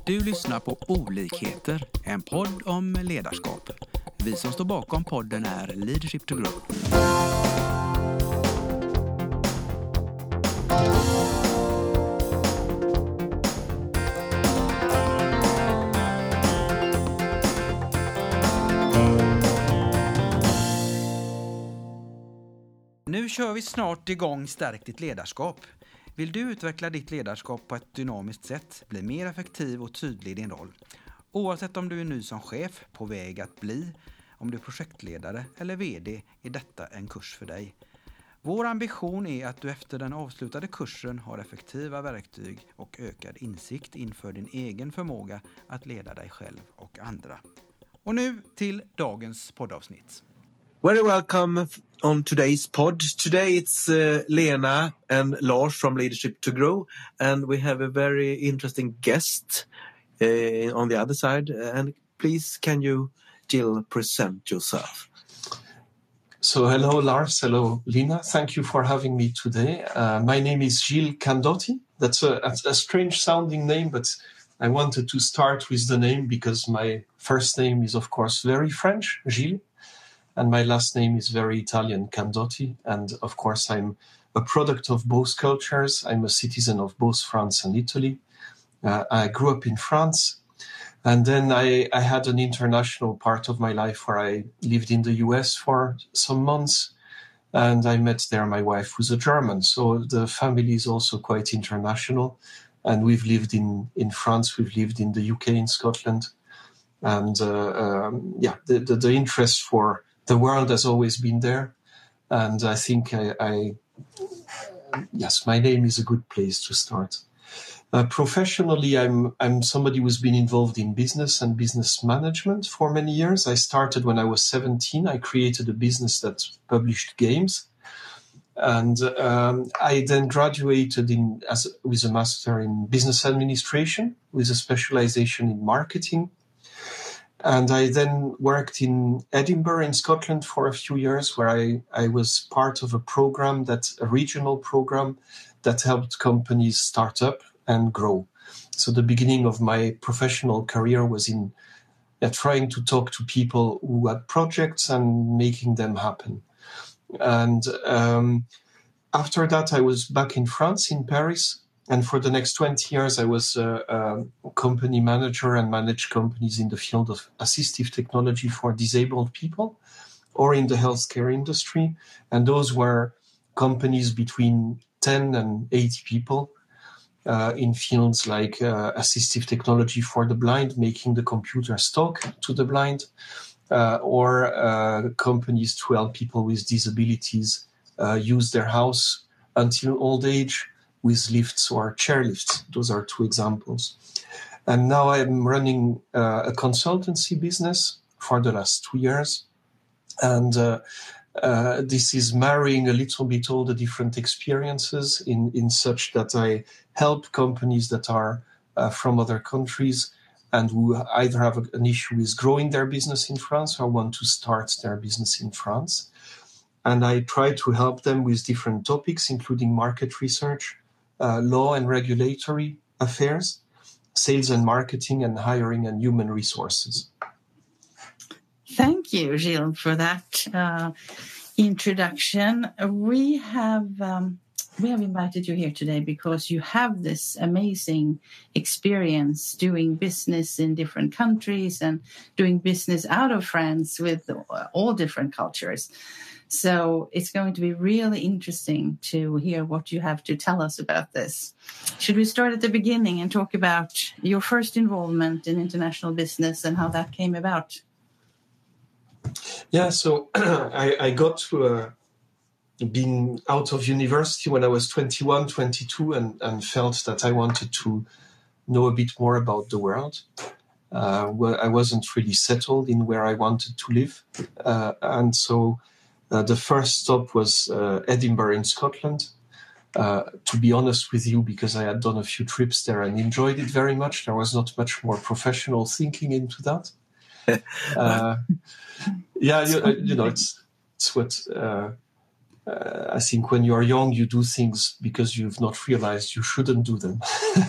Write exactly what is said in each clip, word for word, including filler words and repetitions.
Du lyssnar på Olikheter, en podd om ledarskap. Vi som står bakom podden är Leadership to Grow. Nu kör vi snart igång Stärk ditt ledarskap. Vill du utveckla ditt ledarskap på ett dynamiskt sätt, bli mer effektiv och tydlig i din roll? Oavsett om du är ny som chef, på väg att bli, om du är projektledare eller vd, är detta en kurs för dig. Vår ambition är att du efter den avslutade kursen har effektiva verktyg och ökad insikt inför din egen förmåga att leda dig själv och andra. Och nu till dagens poddavsnitt. Very welcome on today's pod. Today it's uh, Lena and Lars from Leadership to Grow, and we have a very interesting guest uh, on the other side. And please, can you, Jill, present yourself? So hello, Lars. Hello, Lena. Thank you for having me today. Uh, my name is Gilles Candotti. That's a, a strange sounding name, but I wanted to start with the name because my first name is, of course, very French, Gilles. And my last name is very Italian, Candotti. And of course, I'm a product of both cultures. I'm a citizen of both France and Italy. Uh, I grew up in France. And then I, I had an international part of my life where I lived in the U S for some months. And I met there my wife, who's a German. So the family is also quite international. And we've lived in, in France, we've lived in the U K, in Scotland. And uh, um, yeah, the, the, the interest for the world has always been there, and I think I, I yes, my name is a good place to start. Uh, professionally, I'm I'm somebody who's been involved in business and business management for many years. I started when I was seventeen. I created a business that published games, and um, I then graduated in as with a master in business administration with a specialization in marketing. And I then worked in Edinburgh in Scotland for a few years, where I, I was part of a program, that a regional program that helped companies start up and grow. So the beginning of my professional career was in uh, trying to talk to people who had projects and making them happen. And um, after that, I was back in France, in Paris. And for the next twenty years, I was a, a company manager and managed companies in the field of assistive technology for disabled people or in the healthcare industry. And those were companies between ten and eighty people uh, in fields like uh, assistive technology for the blind, making the computers talk to the blind, uh, or uh, companies to help people with disabilities uh, use their house until old age, with lifts or chairlifts. Those are two examples. And now I'm running uh, a consultancy business for the last two years. And uh, uh, this is marrying a little bit all the different experiences in, in such that I help companies that are uh, from other countries and who either have a, an issue with growing their business in France or want to start their business in France. And I try to help them with different topics, including market research, Uh, law and regulatory affairs, sales and marketing, and hiring and human resources. Thank you, Gilles, for that uh, introduction. We have um, we have invited you here today because you have this amazing experience doing business in different countries and doing business out of France with all different cultures. So it's going to be really interesting to hear what you have to tell us about this. Should we start at the beginning and talk about your first involvement in international business and how that came about? Yeah, so I, I got to uh, being out of university when I was twenty-one, twenty-two, and, and felt that I wanted to know a bit more about the world. Uh, well, I wasn't really settled in where I wanted to live. Uh, and so Uh, the first stop was uh, Edinburgh in Scotland. Uh, to be honest with you, because I had done a few trips there and enjoyed it very much. There was not much more professional thinking into that. Uh, yeah, you, you know, it's it's what uh, uh, I think when you are young, you do things because you've not realized you shouldn't do them.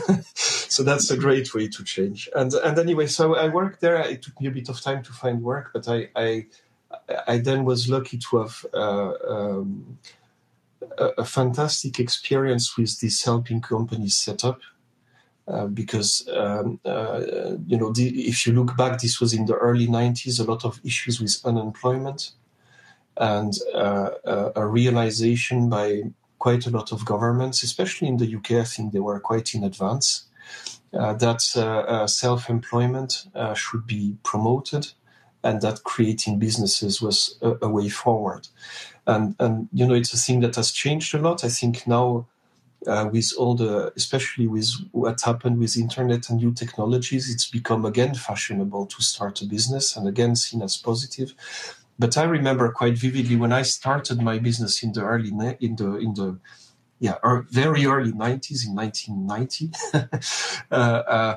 So that's a great way to change. And and anyway, so I worked there. It took me a bit of time to find work, but I I, I then was lucky to have uh, um, a, a fantastic experience with this helping companies set up. Uh, because, um, uh, you know, the, if you look back, this was in the early nineties, a lot of issues with unemployment and uh, uh, a realization by quite a lot of governments, especially in the U K, I think they were quite in advance, uh, that uh, uh, self-employment uh, should be promoted and that creating businesses was a, a way forward. And, and, you know, it's a thing that has changed a lot. I think now, Uh, with all the, especially with what happened with internet and new technologies, it's become again fashionable to start a business and again seen as positive. But I remember quite vividly when I started my business in the early, in the, in the, yeah, er, very early nineties, in nineteen ninety. uh, uh,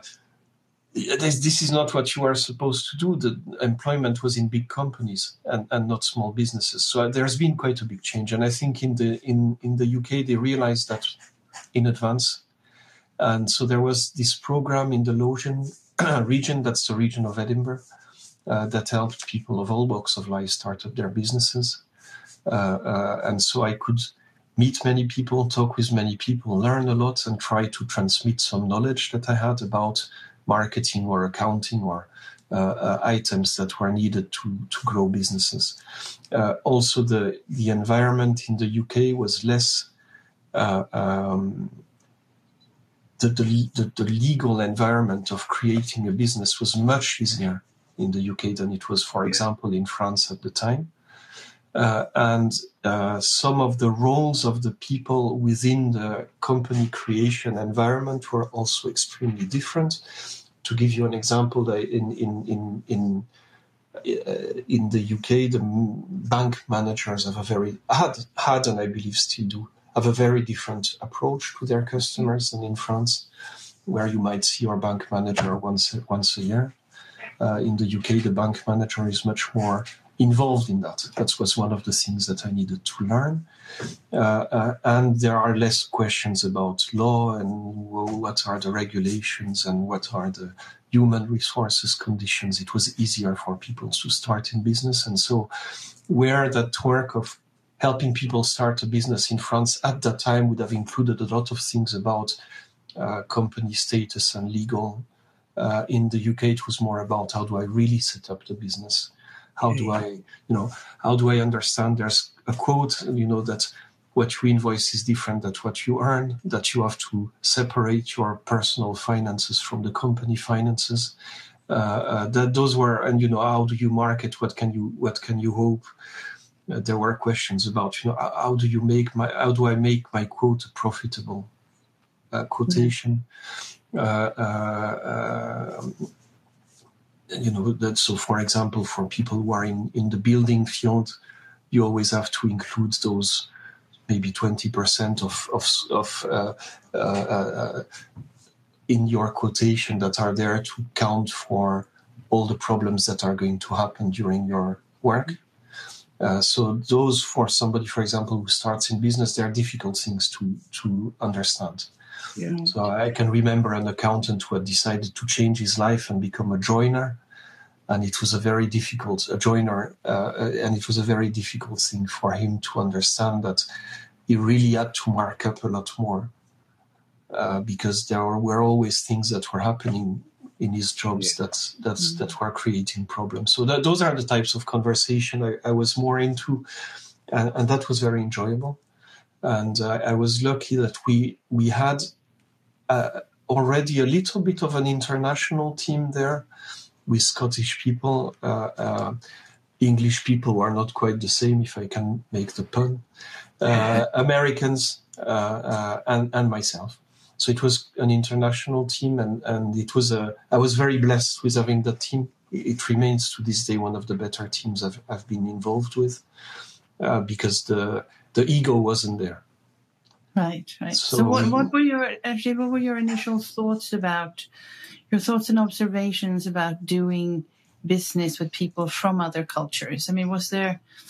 this, this is not what you are supposed to do. The employment was in big companies and, and not small businesses. So there's been quite a big change. And I think in the, in, in the U K, they realized that in advance. And so there was this program in the Lothian region, that's the region of Edinburgh, uh, that helped people of all walks of life start up their businesses. Uh, uh, and so I could meet many people, talk with many people, learn a lot, and try to transmit some knowledge that I had about marketing or accounting or uh, uh, items that were needed to, to grow businesses. Uh, also, the, the environment in the U K was less Uh, um, the, the, the, the legal environment of creating a business was much easier in the U K than it was, for example, in France at the time. Uh, and uh, some of the roles of the people within the company creation environment were also extremely different. To give you an example, in, in, in, in Uh, in the U K, the bank managers have a very had had and I believe still do have a very different approach to their customers than in France, where you might see your bank manager once once a year. Uh, in the U K, the bank manager is much more involved in that. That was one of the things that I needed to learn. Uh, uh, and there are less questions about law and what are the regulations and what are the human resources conditions. It was easier for people to start in business. And so where that work of helping people start a business in France at that time would have included a lot of things about uh, company status and legal. Uh, in the U K, it was more about how do I really set up the business? How do I, you know, how do I understand? There's a quote, you know, that what you invoice is different than what you earn, that you have to separate your personal finances from the company finances. Uh, uh, that those were, and, you know, how do you market? What can you, what can you hope? Uh, there were questions about, you know, how do you make my, how do I make my quote a profitable uh, quotation? Uh, uh, uh, you know, that, so for example, for people who are in, in the building field, you always have to include those maybe twenty percent of, of, of uh, uh, uh, in your quotation that are there to count for all the problems that are going to happen during your work. Uh, so those, for somebody, for example, who starts in business, they are difficult things to, to understand. Yeah. So I can remember an accountant who had decided to change his life and become a joiner. And it was a very difficult, a joiner, uh, and it was a very difficult thing for him to understand that he really had to mark up a lot more uh, because there were always things that were happening in his jobs yeah. that that's, mm-hmm. that were creating problems. So that, those are the types of conversation I, I was more into, and, and that was very enjoyable. And uh, I was lucky that we we had uh, already a little bit of an international team there with Scottish people, uh, uh, English people who are not quite the same, if I can make the pun, uh, Americans, uh, uh, and, and myself. So it was an international team, and, and it was a, I was very blessed with having that team. It remains to this day one of the better teams I've, I've been involved with, uh, because the the ego wasn't there. Right, right. So, so what, what were your actually what were your initial thoughts about your thoughts and observations about doing business with people from other cultures? I mean, was there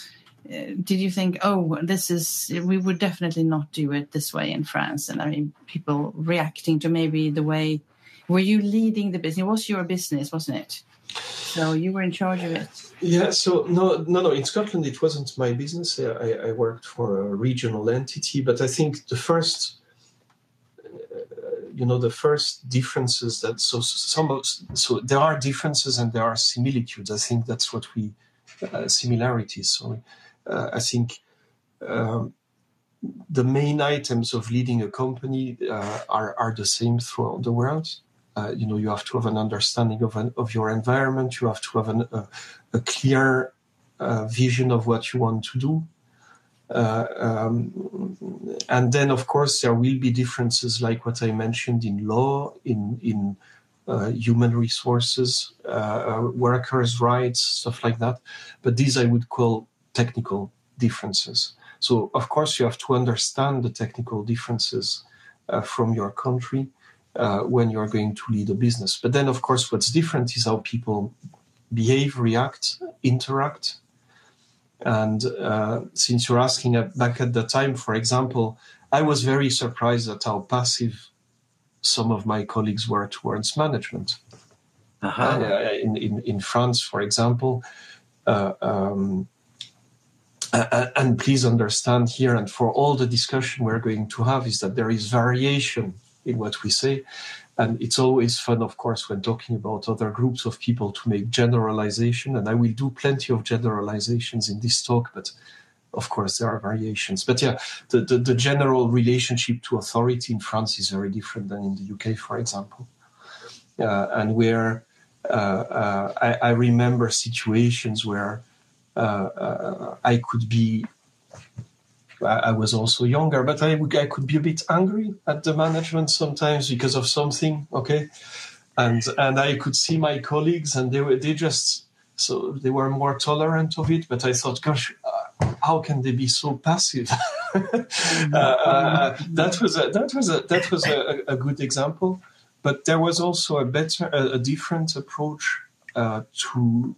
uh, did you think, oh, this is, we would definitely not do it this way in France? And I mean, people reacting to maybe the way, were you leading the business? It was your business, wasn't it? So you were in charge of it. Yeah, so no, no, no. In Scotland, it wasn't my business. I, I worked for a regional entity, but I think the first, uh, you know, the first differences that so some of, so there are differences and there are similitudes. I think that's what we uh, similarities. So uh, I think um, the main items of leading a company uh, are are the same throughout the world. Uh, you know, you have to have an understanding of an, of your environment. You have to have an, a, a clear uh, vision of what you want to do. Uh, um, and then, of course, there will be differences like what I mentioned in law, in, in uh, human resources, uh, workers' rights, stuff like that. But these I would call technical differences. So, of course, you have to understand the technical differences uh, from your country uh, when you're going to lead a business. But then, of course, what's different is how people behave, react, interact. And uh, since you're asking uh, back at the time, for example, I was very surprised at how passive some of my colleagues were towards management. Uh-huh. Uh, in, in, in France, for example, uh, um, uh, and please understand here, and for all the discussion we're going to have, is that there is variation in what we say. And it's always fun, of course, when talking about other groups of people to make generalization. And I will do plenty of generalizations in this talk, but of course there are variations. But yeah, the, the, the general relationship to authority in France is very different than in the U K, for example. Uh, and where uh, uh, I, I remember situations where uh, uh, I could be I was also younger, but I, I could be a bit angry at the management sometimes because of something, okay? And and I could see my colleagues, and they were they just so they were more tolerant of it. But I thought, gosh, uh, how can they be so passive? uh, uh, that was a, that was a that was a, a good example. But there was also a better, a, a different approach uh, to.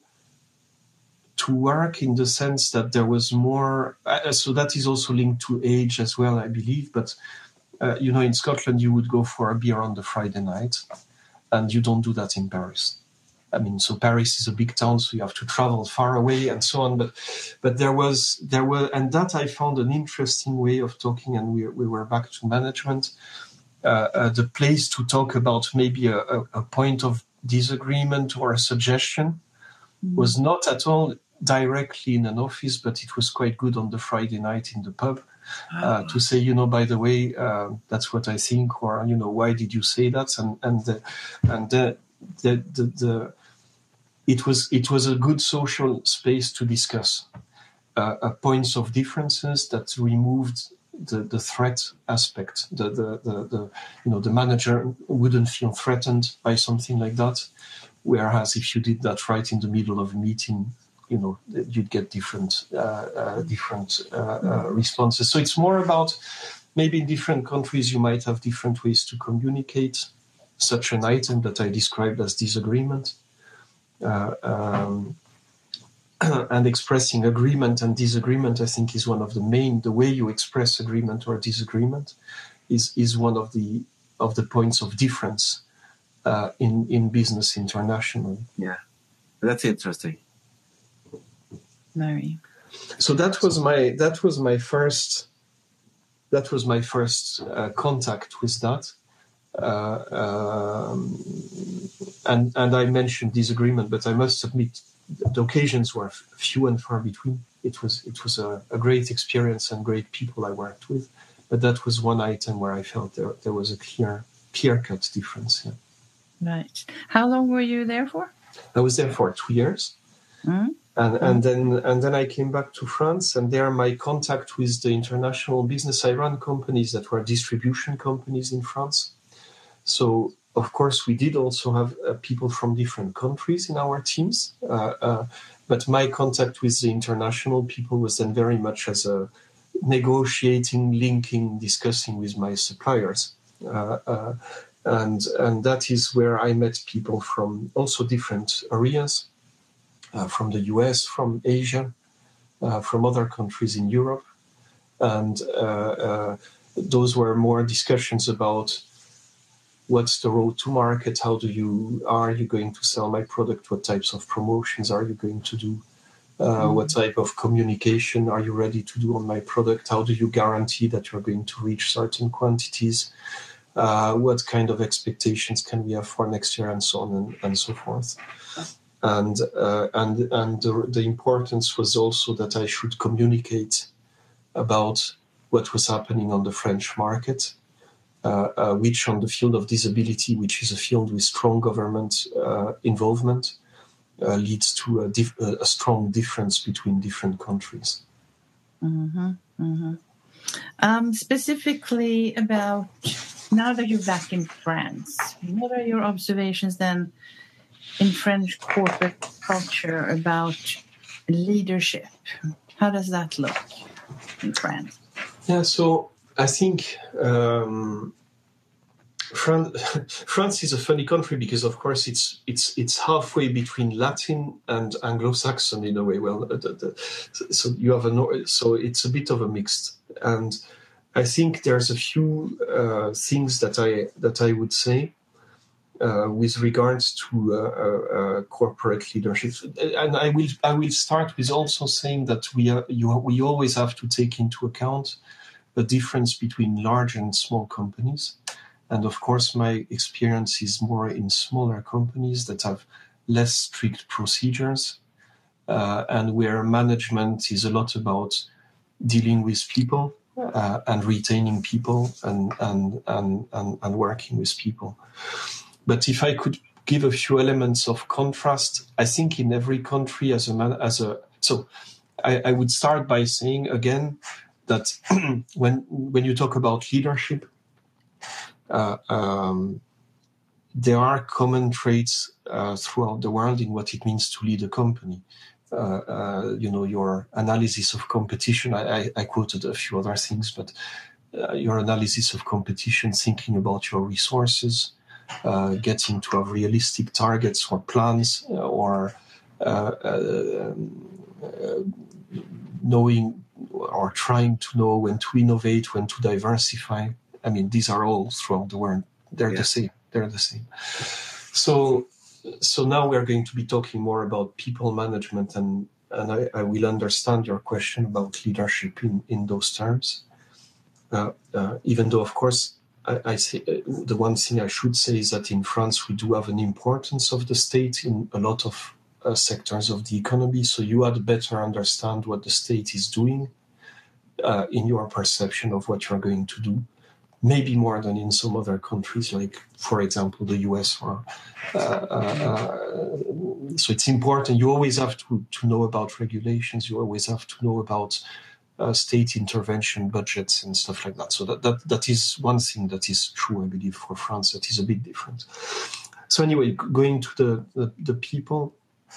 to work, in the sense that there was more, uh, so that is also linked to age as well, I believe. But, uh, you know, in Scotland, you would go for a beer on the Friday night, and you don't do that in Paris. I mean, so Paris is a big town, so you have to travel far away and so on. But, but there was, there were, and that I found an interesting way of talking, and we, we were back to management, uh, uh, the place to talk about maybe a, a, a point of disagreement or a suggestion mm. was not at all directly in an office, but it was quite good on the Friday night in the pub uh, to say, you know, by the way, uh, that's what I think, or, you know, why did you say that? And and the, and the, the, the, the it was it was a good social space to discuss uh, uh, points of differences that removed the, the threat aspect. The, the the the you know the manager wouldn't feel threatened by something like that, whereas if you did that right in the middle of a meeting, you know, you'd get different uh, uh, different uh, uh, responses. So it's more about maybe in different countries you might have different ways to communicate such an item that I described as disagreement. Uh, um, and expressing agreement and disagreement, I think, is one of the main, the way you express agreement or disagreement is, is one of the of the points of difference uh, in, in business internationally. Yeah, that's interesting. Very. So that was my that was my first that was my first uh, contact with that, uh, um, and and I mentioned disagreement, but I must admit the occasions were few and far between. It was it was a, a great experience and great people I worked with, but that was one item where I felt there there was a clear clear cut difference. Yeah. Right. How long were you there for? I was there for two years. Mm-hmm. And, and then and then I came back to France, and there my contact with the international business. I ran companies that were distribution companies in France. So, of course, we did also have uh, people from different countries in our teams. Uh, uh, but my contact with the international people was then very much as a negotiating, linking, discussing with my suppliers. Uh, uh, and, and that is where I met people from also different areas. Uh, from the U S, from Asia, uh, from other countries in Europe. And uh, uh, those were more discussions about what's the road to market, how do you, are you going to sell my product, what types of promotions are you going to do, uh, mm-hmm. what type of communication are you ready to do on my product, how do you guarantee that you're going to reach certain quantities, uh, what kind of expectations can we have for next year, and so on and, and so forth. And uh, and and the, the importance was also that I should communicate about what was happening on the French market, uh, uh, which on the field of disability, which is a field with strong government uh, involvement, uh, leads to a, dif- a strong difference between different countries. Mm-hmm, mm-hmm. Um, specifically about, now that you're back in France, what are your observations then in French corporate culture about leadership? How does that look in France? Yeah, so I think um, France, France is a funny country because, of course, it's it's it's halfway between Latin and Anglo-Saxon in a way. Well, the, the, so you have a so it's a bit of a mixed, and I think there's a few uh, things that I that I would say. Uh, with regards to uh, uh, corporate leadership, and I will I will start with also saying that we are, you, we always have to take into account the difference between large and small companies, and of course my experience is more in smaller companies that have less strict procedures, uh, and where management is a lot about dealing with people uh, and retaining people and and, and and and working with people. But if I could give a few elements of contrast, I think in every country as a man, as a so I, I would start by saying again that when when you talk about leadership, uh, um, there are common traits uh, throughout the world in what it means to lead a company. Uh, uh, you know, your analysis of competition. I, I, I quoted a few other things, but uh, your analysis of competition, thinking about your resources. Uh, getting to have realistic targets or plans, uh, or uh, uh, uh, knowing or trying to know when to innovate, when to diversify. I mean, these are all throughout the world. They're yeah. the same. They're the same. So, so now we're going to be talking more about people management, and and I, I will understand your question about leadership in in those terms. Uh, uh, even though, of course. I, I say uh, the one thing I should say is that in France we do have an importance of the state in a lot of uh, sectors of the economy. So you had better understand what the state is doing uh, in your perception of what you're going to do, maybe more than in some other countries, like for example the U S. Or uh, uh, so it's important. You always have to to know about regulations. You always have to know about. Uh, state intervention budgets and stuff like that. So that, that that is one thing that is true, I believe, for France. That is a bit different. So anyway, going to the, the, the people,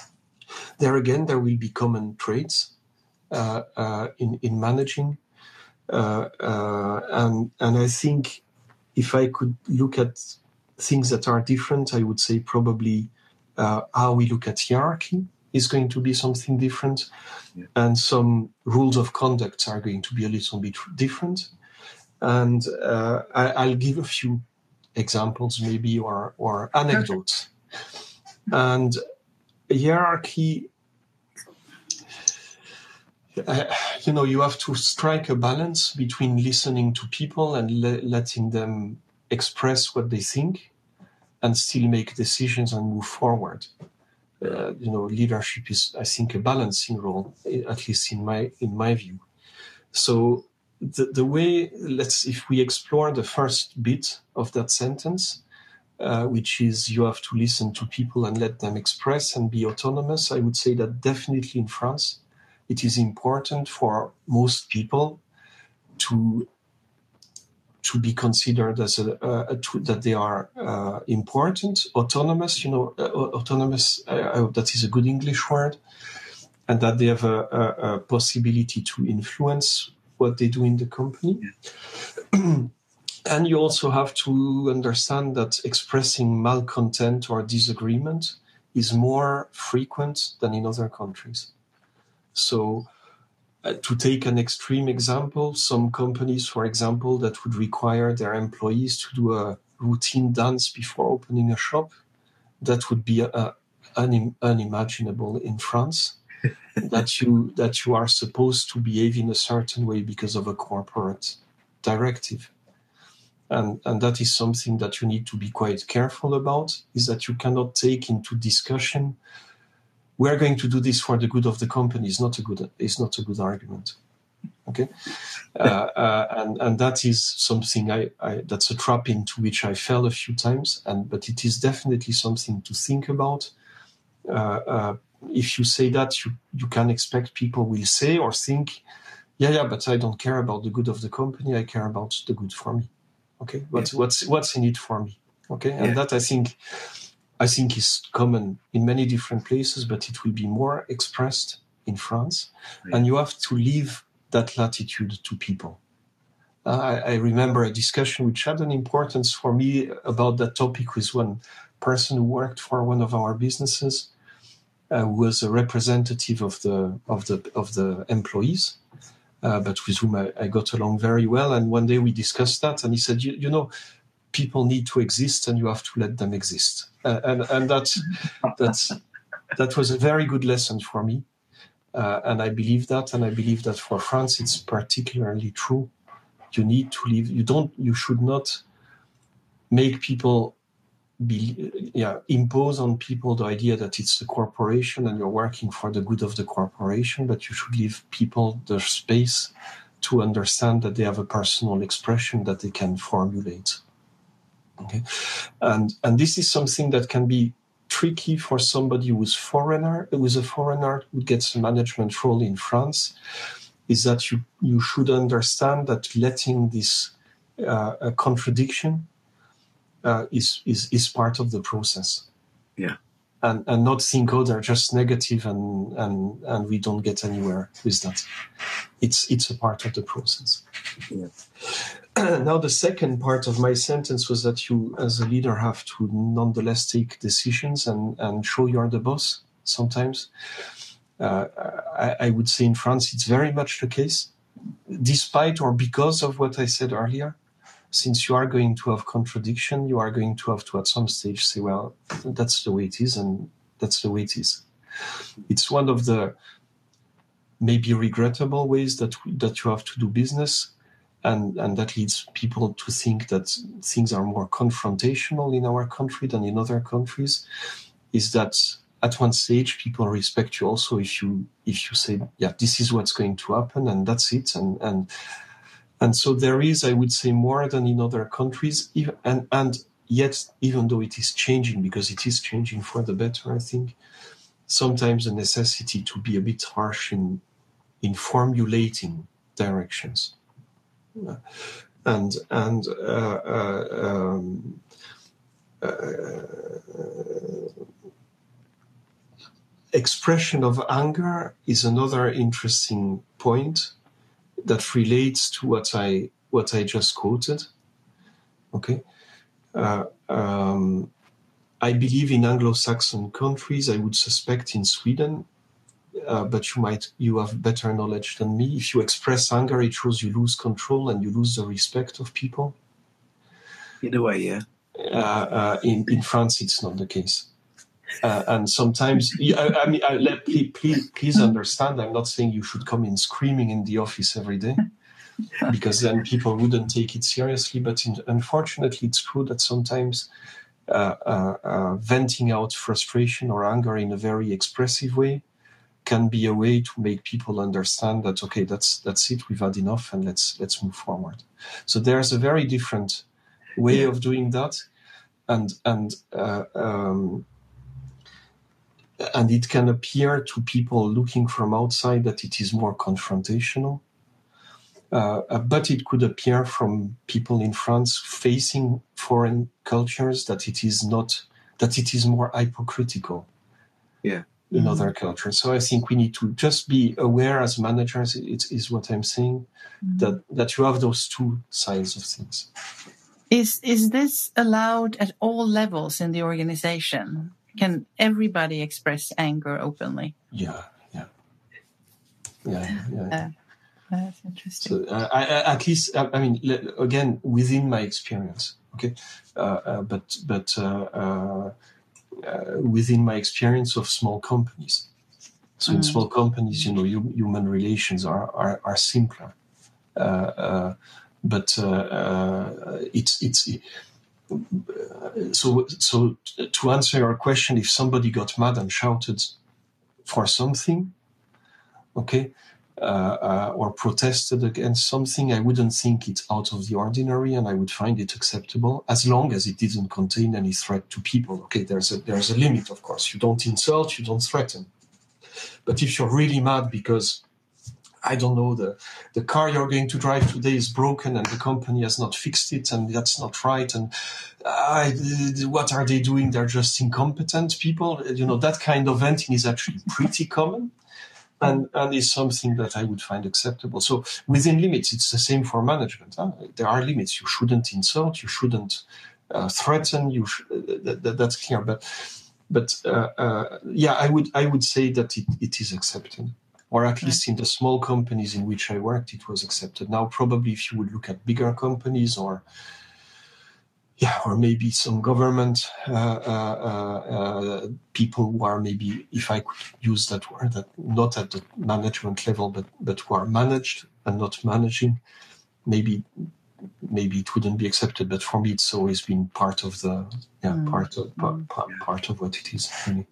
there again, there will be common traits uh, uh, in, in managing. Uh, uh, and, and I think if I could look at things that are different, I would say probably uh, how we look at hierarchy is going to be something different. Yeah. And some rules of conduct are going to be a little bit different. And uh, I, I'll give a few examples maybe or, or anecdotes. Okay. And hierarchy, uh, you know, you have to strike a balance between listening to people and le- letting them express what they think and still make decisions and move forward. Uh, you know, leadership is, I think, a balancing role, at least in my in my view. So the the way, let's, if we explore the first bit of that sentence, uh, which is you have to listen to people and let them express and be autonomous, I would say that definitely in France, it is important for most people to to be considered as a, a, a that they are uh, important, autonomous, you know, uh, autonomous, uh, I hope that is a good English word, and that they have a, a, a possibility to influence what they do in the company. Yeah. And you also have to understand that expressing malcontent or disagreement is more frequent than in other countries. So uh, to take an extreme example, some companies, for example, that would require their employees to do a routine dance before opening a shop, that would be uh, un- unimaginable in France. that you that you are supposed to behave in a certain way because of a corporate directive. And, and that is something that you need to be quite careful about, is that you cannot take into discussion, we're going to do this for the good of the company, is not a good, is not a good argument. Okay? uh, uh, and, and that is something, I, I, that's a trap into which I fell a few times, and but it is definitely something to think about. Uh, uh, if you say that, you, you can expect people will say or think, yeah, yeah, but I don't care about the good of the company, I care about the good for me. Okay, what's yeah. what's what's in it for me? Okay, and yeah. that I think I think is common in many different places, but it will be more expressed in France, yeah. and you have to leave that latitude to people. Uh, I, I remember a discussion which had an importance for me about that topic with one person who worked for one of our businesses, uh, who was a representative of the of the of the employees. Uh, but with whom I, I got along very well. And one day we discussed that, and he said, you, you know, people need to exist and you have to let them exist. Uh, and and that's, that's, that was a very good lesson for me. Uh, and I believe that, and I believe that for France, it's particularly true. You need to leave, you don't, you should not make people be, yeah, impose on people the idea that it's the corporation and you're working for the good of the corporation, but you should leave people the space to understand that they have a personal expression that they can formulate. Okay, and and this is something that can be tricky for somebody who's foreigner, who's a foreigner who gets a management role in France. Is that you you should understand that letting this uh, a contradiction. Uh, is, is is part of the process. Yeah. And and not think, oh, they're just negative and, and, and we don't get anywhere with that. It's it's a part of the process. Yeah. Now, the second part of my sentence was that you, as a leader, have to nonetheless take decisions and, and show you're the boss sometimes. Uh, I, I would say in France, it's very much the case, despite or because of what I said earlier. Since you are going to have contradiction, you are going to have to at some stage say, well, that's the way it is, and that's the way it is. It's one of the maybe regrettable ways that that you have to do business, and, and that leads people to think that things are more confrontational in our country than in other countries, is that at one stage people respect you also if you if you say, yeah, this is what's going to happen, and that's it, and and And so there is, I would say, more than in other countries, even, and, and yet, even though it is changing, because it is changing for the better, I think, sometimes a necessity to be a bit harsh in, in formulating directions. Uh, and and uh, uh, um, uh, expression of anger is another interesting point that relates to what I what I just quoted. Okay, uh, um, I believe in Anglo-Saxon countries. I would suspect in Sweden, uh, but you might you have better knowledge than me. If you express anger, it shows you lose control and you lose the respect of people. In a way, yeah. Uh, uh, in in France, it's not the case. Uh, and sometimes, I, I mean, I, let, please, please, please understand, I'm not saying you should come in screaming in the office every day, because then people wouldn't take it seriously. But in, unfortunately, it's true that sometimes uh, uh, uh, venting out frustration or anger in a very expressive way can be a way to make people understand that, okay, that's that's it, we've had enough, and let's let's move forward. So there's a very different way yeah. of doing that, and and uh, um, and it can appear to people looking from outside that it is more confrontational. Uh, but it could appear from people in France facing foreign cultures that it is not, that it is more hypocritical yeah. in mm-hmm. other cultures. So I think we need to just be aware as managers, it is what I'm saying, mm-hmm. that, that you have those two sides of things. Is is this allowed at all levels in the organization? Can everybody express anger openly? Yeah, yeah. yeah, yeah. Uh, that's interesting. So uh, I, I, at least, I, I mean, le- again, within my experience, okay, uh, uh, but but uh, uh, uh, within my experience of small companies. So mm. in small companies, you know, you, human relations are are, are simpler, uh, uh, but uh, uh, it's it's. So so to answer your question, if somebody got mad and shouted for something, okay. Uh, uh, or protested against something, I wouldn't think it's out of the ordinary, and I would find it acceptable as long as it didn't contain any threat to people. Okay, there's a there's a limit, of course. You don't insult, you don't threaten. But if you're really mad because, I don't know, the the car you're going to drive today is broken and the company has not fixed it, and that's not right, and uh, what are they doing? They're just incompetent people. You know, that kind of venting is actually pretty common. And, and is something that I would find acceptable. So within limits, it's the same for management. Huh? There are limits. You shouldn't insult. You shouldn't uh, threaten. You sh- that, that, that's clear. But but uh, uh, yeah, I would I would say that it, it is accepted, or at least in the small companies in which I worked, it was accepted. Now, probably if you would look at bigger companies or Yeah, or maybe some government uh, uh, uh, people who are maybe, if I could use that word, that not at the management level, but but who are managed and not managing, maybe maybe it wouldn't be accepted. But for me, it's always been part of the yeah mm. part of mm. part, part of what it is. Really.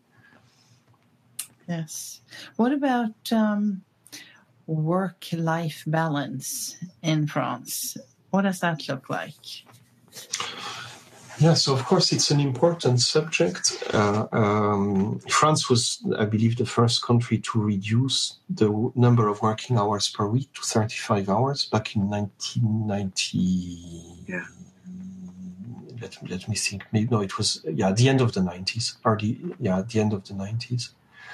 Yes. What about um, work-life balance in France? What does that look like? Yeah, so of course it's an important subject. Uh, um, France was, I believe, the first country to reduce the w- number of working hours per week to thirty-five hours back in nineteen ninety. Yeah. Let, let me think. Maybe no, it was yeah, the end of the nineties. Or the yeah, the end of the nineties.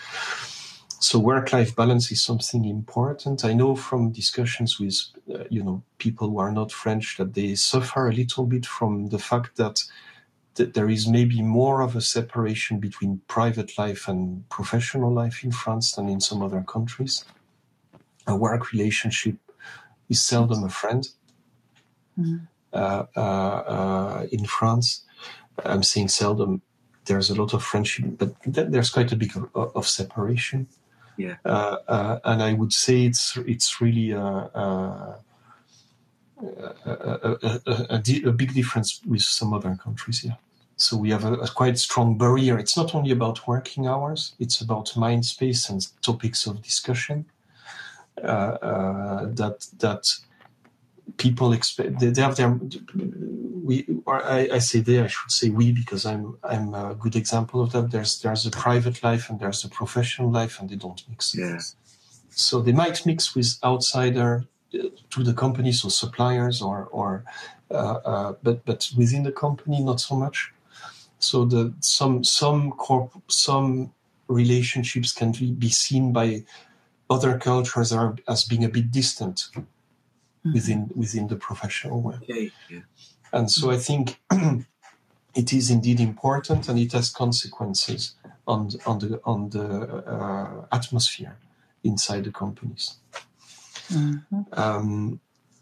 So work-life balance is something important. I know from discussions with, uh, you know, people who are not French that they suffer a little bit from the fact that th- there is maybe more of a separation between private life and professional life in France than in some other countries. A work relationship is seldom a friend mm-hmm. uh, uh, uh, in France. I'm saying seldom. There's a lot of friendship, but th- there's quite a bit of, of separation. Yeah, uh, uh, and I would say it's it's really a, a, a, a, a, a big difference with some other countries here. So we have a, a quite strong barrier. It's not only about working hours; it's about mind space and topics of discussion uh, uh, that that people expect. They, they have their. We, or I, I say they. I should say we, because I'm I'm a good example of that. There's there's a private life and there's a professional life, and they don't mix. Yeah. So they might mix with outsider to the company, so suppliers or or, uh, uh, but but within the company, not so much. So the some some corp some relationships can be seen by other cultures are as being a bit distant mm-hmm. within within the professional world. Okay. Yeah. And so I think it is indeed important, and it has consequences on on the on the uh, atmosphere inside the companies. Mm-hmm. Um,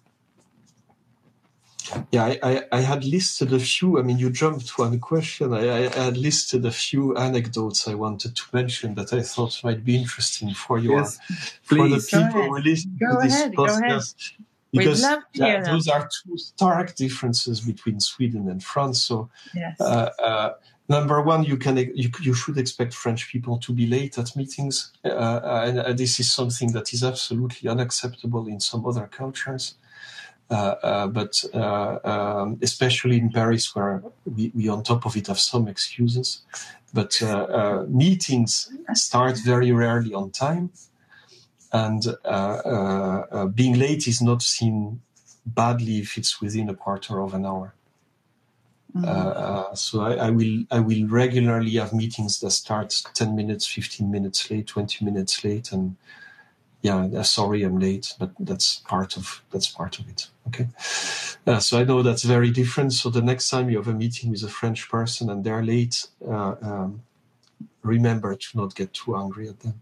yeah, I, I, I had listed a few. I mean, you jumped to one question. I, I had listed a few anecdotes I wanted to mention that I thought might be interesting for you, yes, for the please. people who listen go to this ahead, podcast. Because We'd love to hear yeah, those are two stark differences between Sweden and France. So, yes. uh, uh, number one, you can you, you should expect French people to be late at meetings, uh, and uh, this is something that is absolutely unacceptable in some other cultures. Uh, uh, but uh, um, especially in Paris, where we, we on top of it have some excuses. But uh, uh, meetings start very rarely on time. And uh, uh, uh, being late is not seen badly if it's within a quarter of an hour. Mm-hmm. Uh, uh, so I, I will I will regularly have meetings that start ten minutes, fifteen minutes late, twenty minutes late, and yeah, sorry I'm late, but that's part of that's part of it. Okay, uh, so I know that's very different. So the next time you have a meeting with a French person and they're late, uh, um, remember to not get too angry at them.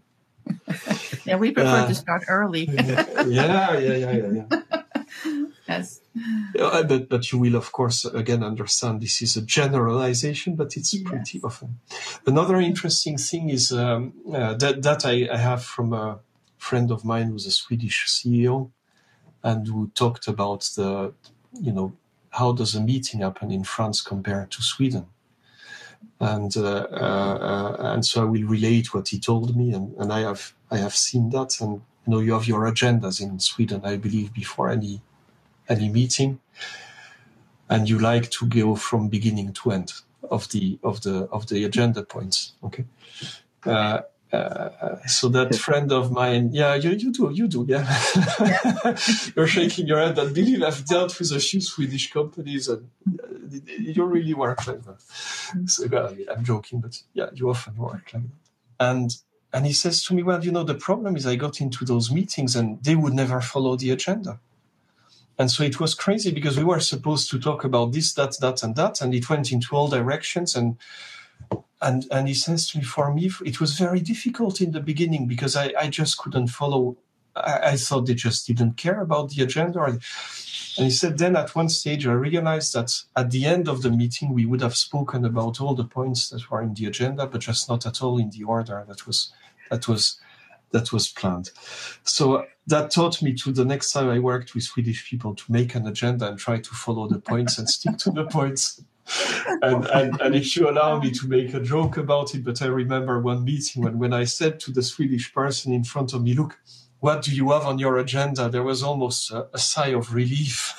Yeah, we prefer Uh, to start early. yeah, yeah, yeah, yeah, yeah. Yes. Uh, but, but you will, of course, again understand this is a generalization, but it's Yes. pretty often. Another interesting thing is um, uh, that that I, I have from a friend of mine who's a Swedish C E O, and who talked about the, you know, how does a meeting happen in France compared to Sweden, and uh, uh, uh, and so I will relate what he told me, and, and I have I have seen that, and you know, you have your agendas in Sweden, I believe, before any. any meeting, and you like to go from beginning to end of the of the of the agenda points. Okay, uh, uh, so that friend of mine, yeah, you you do you do, yeah. You're shaking your head. I believe I've dealt with a few Swedish companies, and you really work like that. So, well, I'm joking, but yeah, you often work like that. And and he says to me, well, you know, the problem is I got into those meetings and they would never follow the agenda. And so it was crazy because we were supposed to talk about this, that, that, and that, and it went into all directions. And and and he says to me, for me, it was very difficult in the beginning because I, I just couldn't follow. I, I thought they just didn't care about the agenda. And he said, then at one stage, I realized that at the end of the meeting, we would have spoken about all the points that were in the agenda, but just not at all in the order that was that was that was planned. So that taught me to the next time I worked with Swedish people to make an agenda and try to follow the points and stick to the points. And, and, and if you allow me to make a joke about it, but I remember one meeting when, when I said to the Swedish person in front of me, look, what do you have on your agenda? There was almost a, a sigh of relief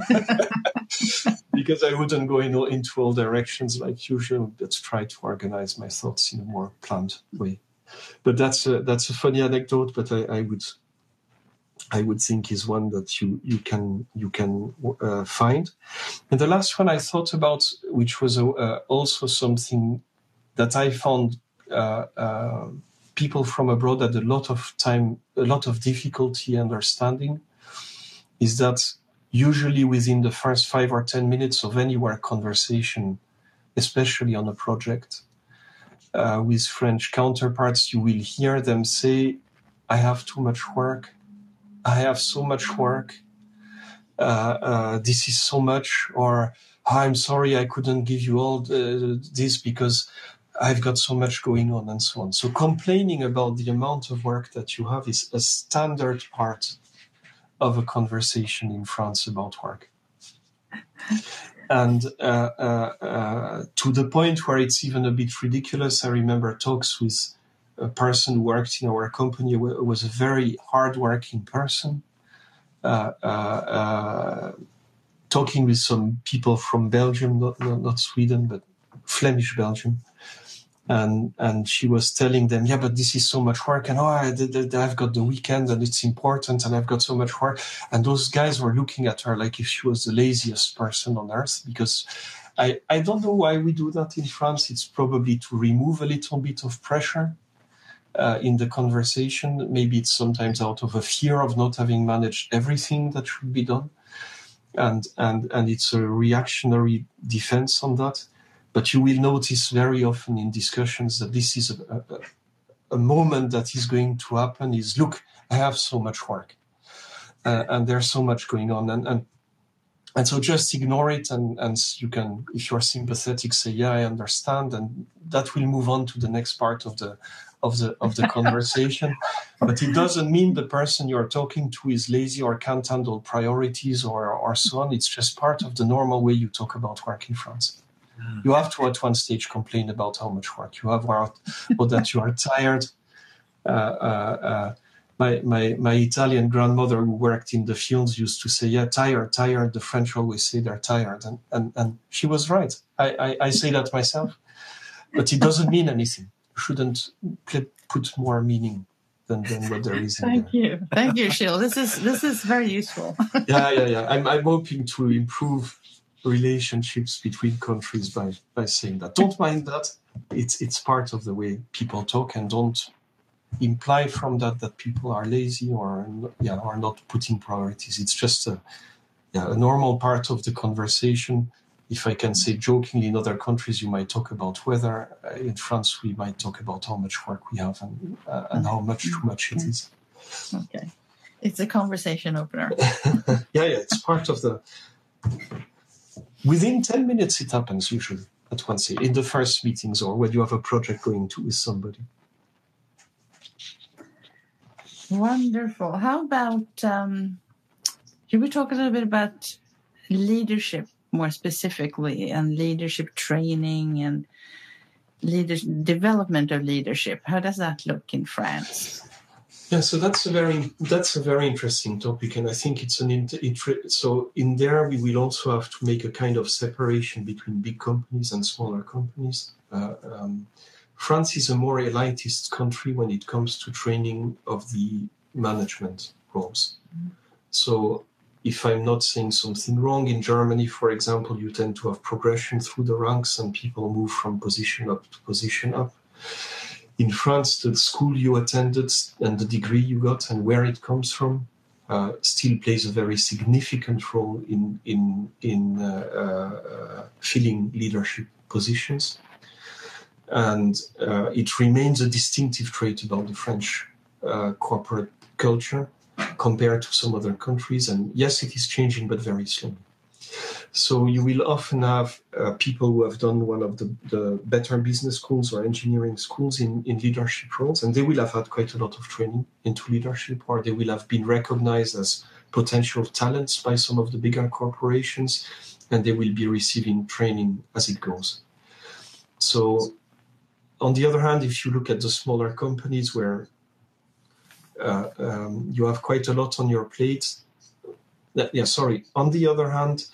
because I wouldn't go in, into all directions like usual, but try to organize my thoughts in a more planned way. But that's a, that's a funny anecdote, but I, I would I would think is one that you you can you can uh, find. And the last one I thought about, which was uh, also something that I found uh, uh, people from abroad had a lot of time, a lot of difficulty understanding, is that usually within the first five or ten minutes of any work conversation, especially on a project, Uh, with French counterparts, you will hear them say, I have too much work. I have so much work. Uh, uh, this is so much. Or, oh, I'm sorry, I couldn't give you all the, this because I've got so much going on, and so on. So complaining about the amount of work that you have is a standard part of a conversation in France about work. And uh, uh, uh, to the point where it's even a bit ridiculous. I remember talks with a person who worked in our company, who was a very hard-working person, uh, uh, uh, talking with some people from Belgium, not, not, not Sweden, but Flemish Belgium. And and she was telling them, yeah, but this is so much work, and oh, I, I've got the weekend, and it's important, and I've got so much work. And those guys were looking at her like if she was the laziest person on earth, because I, I don't know why we do that in France. It's probably to remove a little bit of pressure uh, in the conversation. Maybe it's sometimes out of a fear of not having managed everything that should be done. And, and, and it's a reactionary defense on that. But you will notice very often in discussions that this is a, a, a moment that is going to happen is, look, I have so much work uh, and there's so much going on. And, and, and so just ignore it. And, and you can, if you're sympathetic, say, yeah, I understand. And that will move on to the next part of the, of the, of the conversation. But it doesn't mean the person you're talking to is lazy or can't handle priorities or, or so on. It's just part of the normal way you talk about work in France. You have to at one stage complain about how much work you have, or, or that you are tired. Uh, uh, uh, my, my, my Italian grandmother who worked in the fields used to say, yeah, tired, tired. The French always say they're tired. And, and, and she was right. I, I, I say that myself. But it doesn't mean anything. You shouldn't put more meaning than, than what there is in Thank there. you. Thank you, Gilles. This is, this is very useful. yeah, yeah, yeah. I'm, I'm hoping to improve relationships between countries by, by saying that. Don't mind that. It's it's part of the way people talk, and don't imply from that that people are lazy or yeah are not putting priorities. It's just a yeah a normal part of the conversation, if I can say jokingly, in other countries you might talk about weather. Uh, in France, we might talk about how much work we have and uh, and how much too much it is. Okay, it's a conversation opener. yeah, yeah, it's part of the. Within ten minutes, it happens usually at once in the first meetings or when you have a project going to with somebody. Wonderful. How about? Um, should we talk a little bit about leadership more specifically, and leadership training and leader development of leadership? How does that look in France? Yeah, so that's a very that's a very interesting topic, and I think it's an it, so in there we will also have to make a kind of separation between big companies and smaller companies. Uh, um, France is a more elitist country when it comes to training of the management roles. Mm-hmm. So if I'm not saying something wrong, in Germany, for example, you tend to have progression through the ranks and people move from position up to position up. In France, the school you attended and the degree you got and where it comes from uh, still plays a very significant role in in in uh, uh, filling leadership positions, and uh, it remains a distinctive trait about the French uh, corporate culture compared to some other countries. And yes, it is changing, but very slowly. So you will often have uh, people who have done one of the, the better business schools or engineering schools in, in leadership roles, and they will have had quite a lot of training into leadership, or they will have been recognized as potential talents by some of the bigger corporations, and they will be receiving training as it goes. So on the other hand, if you look at the smaller companies where uh, um, you have quite a lot on your plate, uh, yeah, sorry. On the other hand,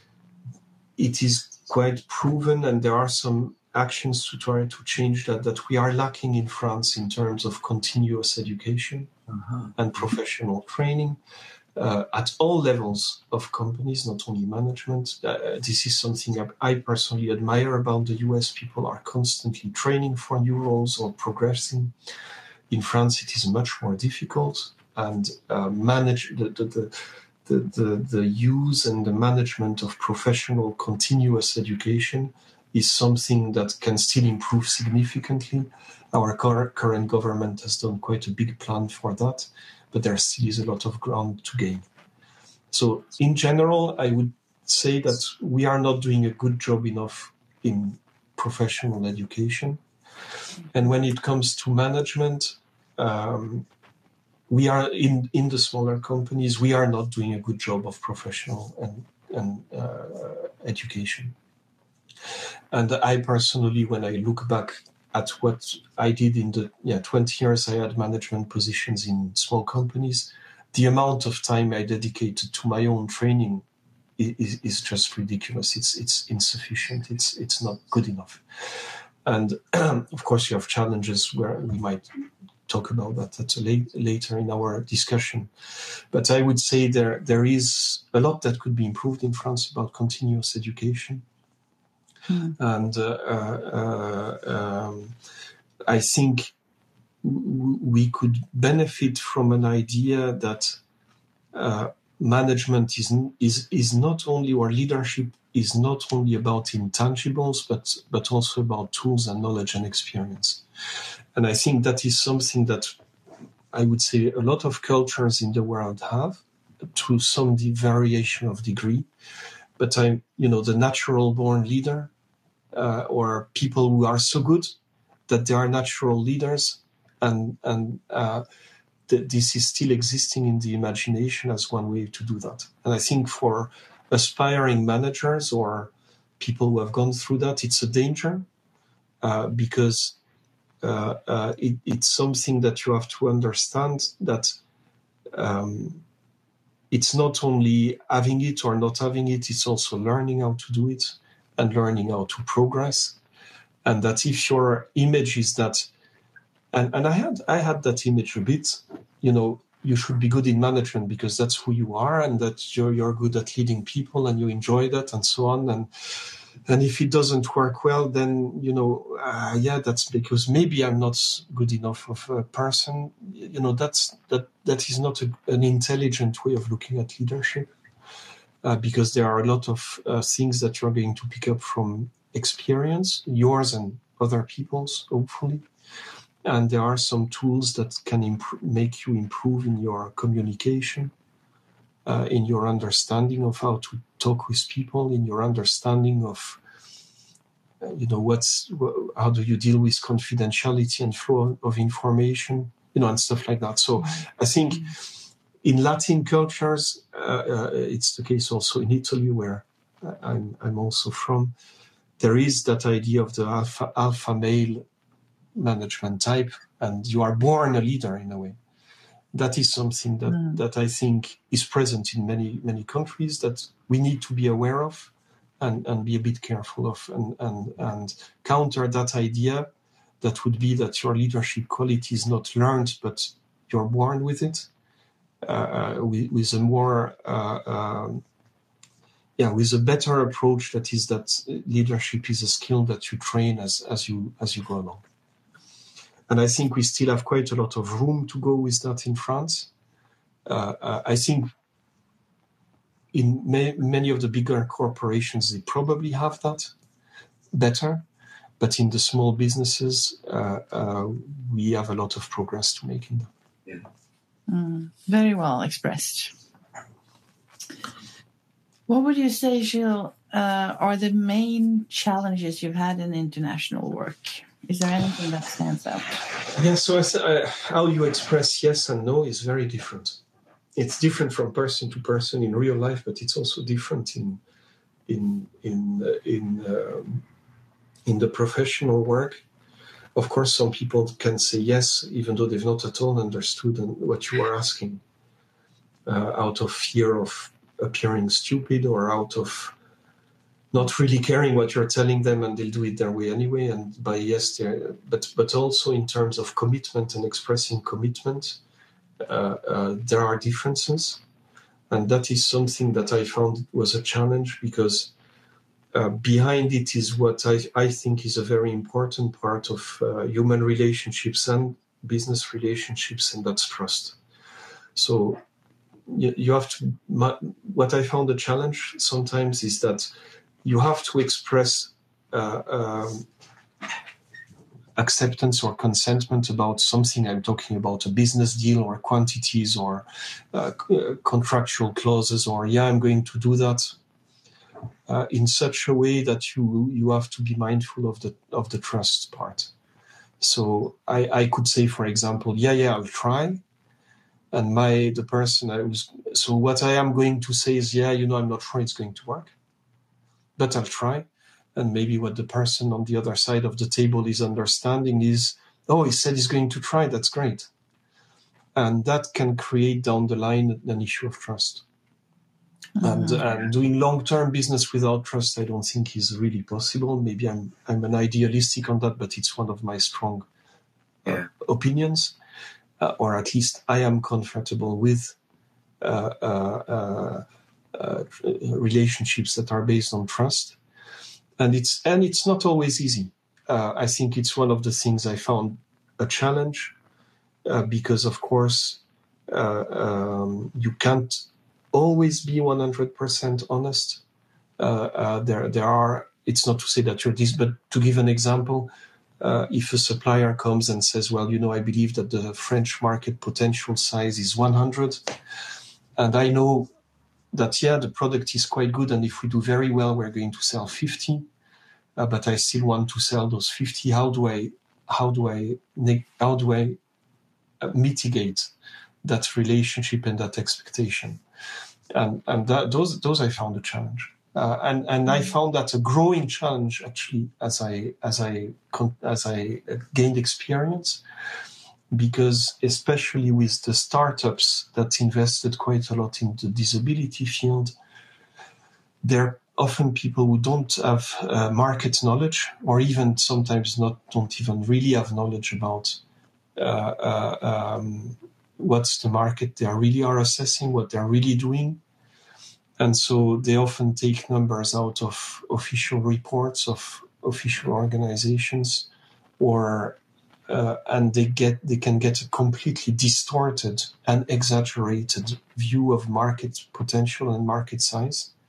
it is quite proven, and there are some actions to try to change that, that we are lacking in France in terms of continuous education uh-huh. and professional training uh, at all levels of companies, not only management. Uh, this is something I personally admire about the U S. People are constantly training for new roles or progressing. In France, it is much more difficult, and uh, manage the, the, the The, the, the use and the management of professional continuous education is something that can still improve significantly. Our cur- current government has done quite a big plan for that, but there still is a lot of ground to gain. So in general, I would say that we are not doing a good job enough in professional education. And when it comes to management, um, we are in, in the smaller companies, we are not doing a good job of professional and, and uh, education. And I personally, when I look back at what I did in the yeah, twenty years I had management positions in small companies, the amount of time I dedicated to my own training is, is just ridiculous. It's it's insufficient. It's it's not good enough. And of course, you have challenges where we might talk about that at a late, later in our discussion. But I would say there there is a lot that could be improved in France about continuous education. Mm. And uh, uh, um, I think w- we could benefit from an idea that uh, management is, is, is not only, or leadership is not only about intangibles, but, but also about tools and knowledge and experience. And I think that is something that I would say a lot of cultures in the world have, to some variation of degree. But I'm, you know, the natural born leader, uh, or people who are so good that they are natural leaders, and and uh, th- this is still existing in the imagination as one way to do that. And I think for aspiring managers or people who have gone through that, it's a danger uh, because. Uh, uh, it, it's something that you have to understand that um, it's not only having it or not having it, it's also learning how to do it and learning how to progress. And that if your image is that, and, and I had I had that image a bit, you know, you should be good in management because that's who you are, and that you're you're good at leading people and you enjoy that and so on. And And if it doesn't work well, then, you know, uh, yeah, that's because maybe I'm not good enough of a person. You know, that's that that is not a, an intelligent way of looking at leadership. uh, because there are a lot of uh, things that you're going to pick up from experience, yours and other people's, hopefully. And there are some tools that can imp- make you improve in your communication, uh, in your understanding of how to talk with people, in your understanding of, uh, you know, what's how do you deal with confidentiality and flow of information, you know, and stuff like that. So I think in Latin cultures, uh, uh, it's the case also in Italy, where I'm, I'm also from. There is that idea of the alpha, alpha male management type, and you are born a leader in a way. That is something that, mm. that I think is present in many, many countries that we need to be aware of and, and be a bit careful of, and, and, and counter that idea that would be that your leadership quality is not learned, but you're born with it, uh, with, with a more, uh, um, yeah, with a better approach that is that leadership is a skill that you train as, as you, as you go along. And I think we still have quite a lot of room to go with that in France. Uh, uh, I think in may, many of the bigger corporations, they probably have that better. But in the small businesses, uh, uh, we have a lot of progress to make in them. Yeah. Mm, very well expressed. What would you say, Gilles, uh, are the main challenges you've had in international work? Is there anything that stands out? Yeah, so I th- uh, how you express yes and no is very different. It's different from person to person in real life, but it's also different in in in uh, in um, in the professional work. Of course, some people can say yes, even though they've not at all understood what you are asking, uh, out of fear of appearing stupid or out of not really caring what you're telling them, and they'll do it their way anyway. And by yes, they're, but but also in terms of commitment and expressing commitment, uh, uh, there are differences, and that is something that I found was a challenge, because uh, behind it is what I, I think is a very important part of uh, human relationships and business relationships, and that's trust. So you, you have to. My, what I found a challenge sometimes is that you have to express uh, um, acceptance or consentment about something. I'm talking about a business deal or quantities or uh, contractual clauses, or yeah, I'm going to do that uh, in such a way that you you have to be mindful of the of the trust part. So I, I could say, for example, yeah, yeah, I'll try. And my the person I was so what I am going to say is, yeah, you know, I'm not sure it's going to work, but I'll try. And maybe what the person on the other side of the table is understanding is, oh, he said he's going to try. That's great. And that can create down the line an issue of trust. Mm-hmm. And, and doing long-term business without trust, I don't think is really possible. Maybe I'm I'm an idealistic on that, but it's one of my strong uh, yeah. opinions, uh, or at least I am comfortable with uh, uh, uh, uh, relationships that are based on trust. And it's and it's not always easy. Uh, I think it's one of the things I found a challenge uh, because, of course, uh, um, you can't always be one hundred percent honest. Uh, uh, there, there are. It's not to say that you're this, but to give an example, uh, if a supplier comes and says, "Well, you know, I believe that the French market potential size is one hundred, and I know that, yeah, the product is quite good, and if we do very well, we're going to sell fifty, uh, but I still want to sell those fifty. How do I, how do I, how do I uh, mitigate that relationship and that expectation?" And and that, those those I found a challenge, uh, and and I found that a growing challenge actually as I as I as I gained experience. Because especially with the startups that invested quite a lot in the disability field, they're often people who don't have uh, market knowledge, or even sometimes not don't even really have knowledge about uh, uh, um, what's the market they are really are assessing, what they're really doing. And so they often take numbers out of official reports of official organizations, or Uh, and they get they can get a completely distorted and exaggerated view of market potential and market size.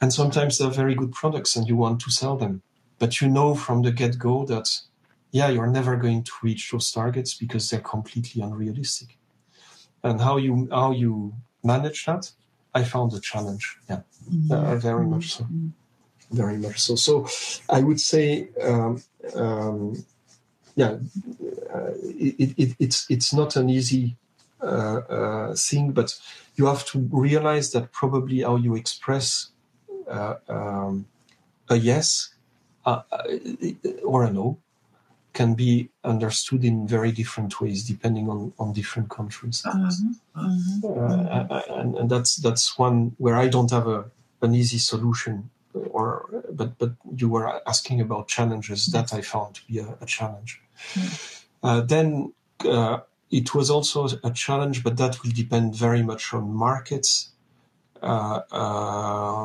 And sometimes they're very good products and you want to sell them. But you know from the get-go that, yeah, you're never going to reach those targets because they're completely unrealistic. And how you how you manage that, I found a challenge. Yeah, mm-hmm. uh, very mm-hmm. much so. Very much so. So I would say, um, um, yeah, uh, it, it, it's it's not an easy uh, uh, thing, but you have to realize that probably how you express uh, um, a yes uh, or a no can be understood in very different ways depending on, on different countries. Mm-hmm. Mm-hmm. Uh, and, and that's that's one where I don't have a an easy solution. Or, but but you were asking about challenges that I found to be a, a challenge. Mm. Uh, then uh, it was also a challenge, but that will depend very much on markets. Uh, uh,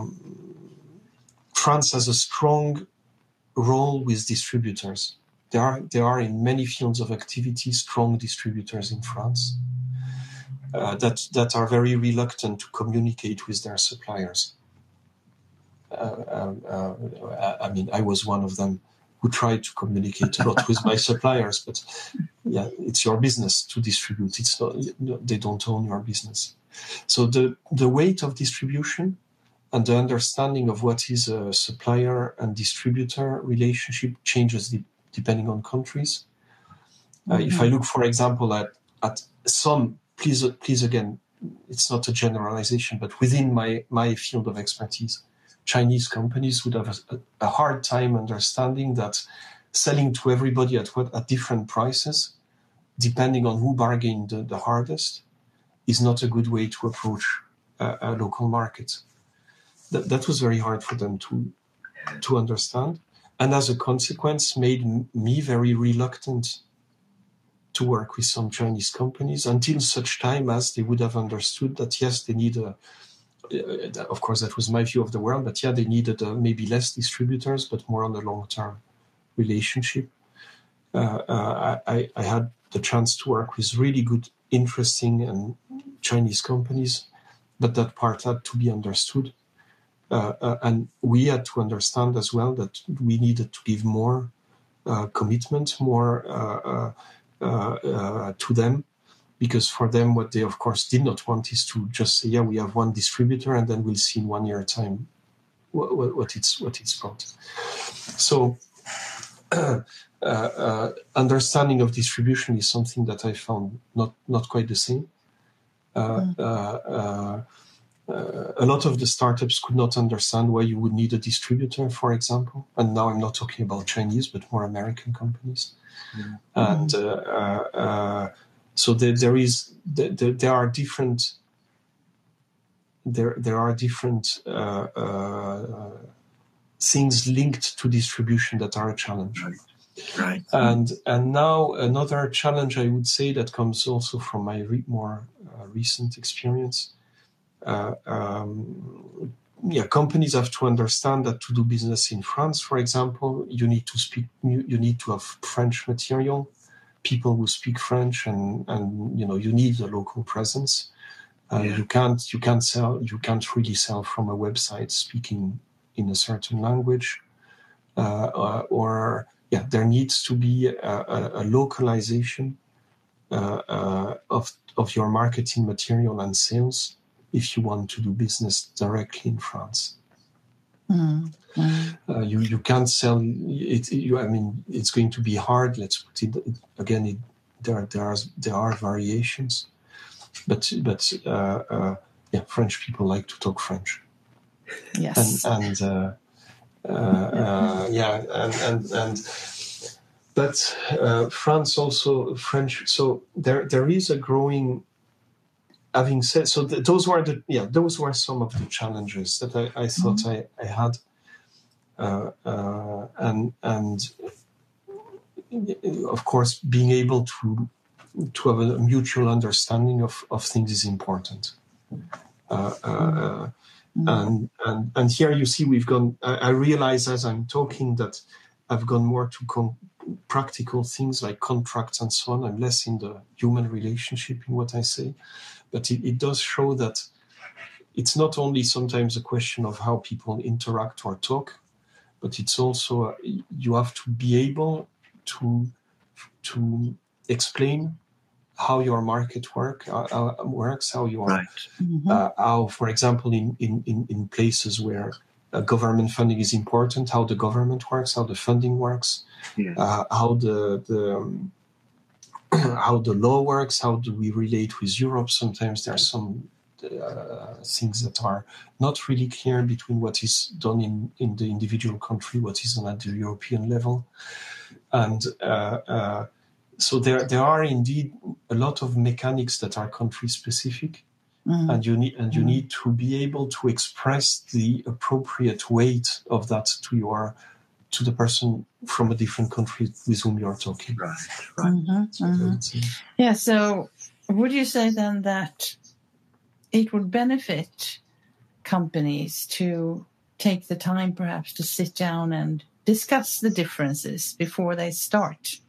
France has a strong role with distributors. There are there are in many fields of activity strong distributors in France uh, that that are very reluctant to communicate with their suppliers. Uh, uh, I mean, I was one of them who tried to communicate a lot with my suppliers, but yeah, it's your business to distribute. It's not, they don't own your business. So the, the weight of distribution and the understanding of what is a supplier and distributor relationship changes de- depending on countries. Uh, mm-hmm. If I look, for example, at, at some, please, please again, it's not a generalization, but within my, my field of expertise, Chinese companies would have a, a hard time understanding that selling to everybody at what at different prices, depending on who bargained the, the hardest, is not a good way to approach a, a local market. That, that was very hard for them to to understand, and as a consequence, made m- me very reluctant to work with some Chinese companies until such time as they would have understood that yes, they need a Uh, of course, that was my view of the world, but yeah, they needed uh, maybe less distributors, but more on a long-term relationship. Uh, uh, I, I had the chance to work with really good, interesting and Chinese companies, but that part had to be understood. Uh, uh, and we had to understand as well that we needed to give more uh, commitment, more uh, uh, uh, uh, to them. Because for them, what they, of course, did not want is to just say, yeah, we have one distributor and then we'll see in one year time what, what, what it's what it's brought. So uh, uh, understanding of distribution is something that I found not, not quite the same. Uh, mm. uh, uh, uh, a lot of the startups could not understand why you would need a distributor, for example. And now I'm not talking about Chinese, but more American companies. Mm. And uh, uh, uh, So there, there is, there, there are different, there, there are different uh, uh, things linked to distribution that are a challenge. Right. Right. And and now another challenge I would say that comes also from my re- more uh, recent experience. Uh, um, yeah, companies have to understand that to do business in France, for example, you need to speak, you, you need to have French material. People who speak French, and, and you know you need a local presence. Uh, yeah. You can't you can't sell you can't really sell from a website speaking in a certain language, uh, uh, or yeah, there needs to be a, a, a localization uh, uh, of of your marketing material and sales if you want to do business directly in France. Mm. Mm. Uh, you you can't sell it. You, I mean, it's going to be hard. Let's put it again. It, there there are there are variations, but but uh, uh, yeah, French people like to talk French. Yes, and and uh, uh, uh, yeah, and and and but uh, France also French. So there there is a growing. Having said so, th- those were the yeah those were some of the challenges that I, I thought mm-hmm. I, I had. Uh, uh, and and of course, being able to to have a mutual understanding of, of things is important. Uh, uh, mm-hmm. And and and here you see we've gone. I, I realize as I'm talking that I've gone more to com- practical things like contracts and so on. I'm less in the human relationship in what I say, but it, it does show that it's not only sometimes a question of how people interact or talk, but it's also uh, you have to be able to to explain how your market work uh, uh, works, how your Right. Mhm. uh, how, for example, in in in, in places where uh, government funding is important, how the government works, how the funding works, Yeah. uh, how the the um, how the law works, how do we relate with Europe. Sometimes there are some uh, things that are not really clear between what is done in, in the individual country, what is done at the European level. And uh, uh, so there there are indeed a lot of mechanics that are country specific. Mm. And you need and you Mm. need to be able to express the appropriate weight of that to your to the person from a different country with whom you're talking. Right. Right. Mhm, So mhm. that's it. Yeah, so would you say then that it would benefit companies to take the time perhaps to sit down and discuss the differences before they start?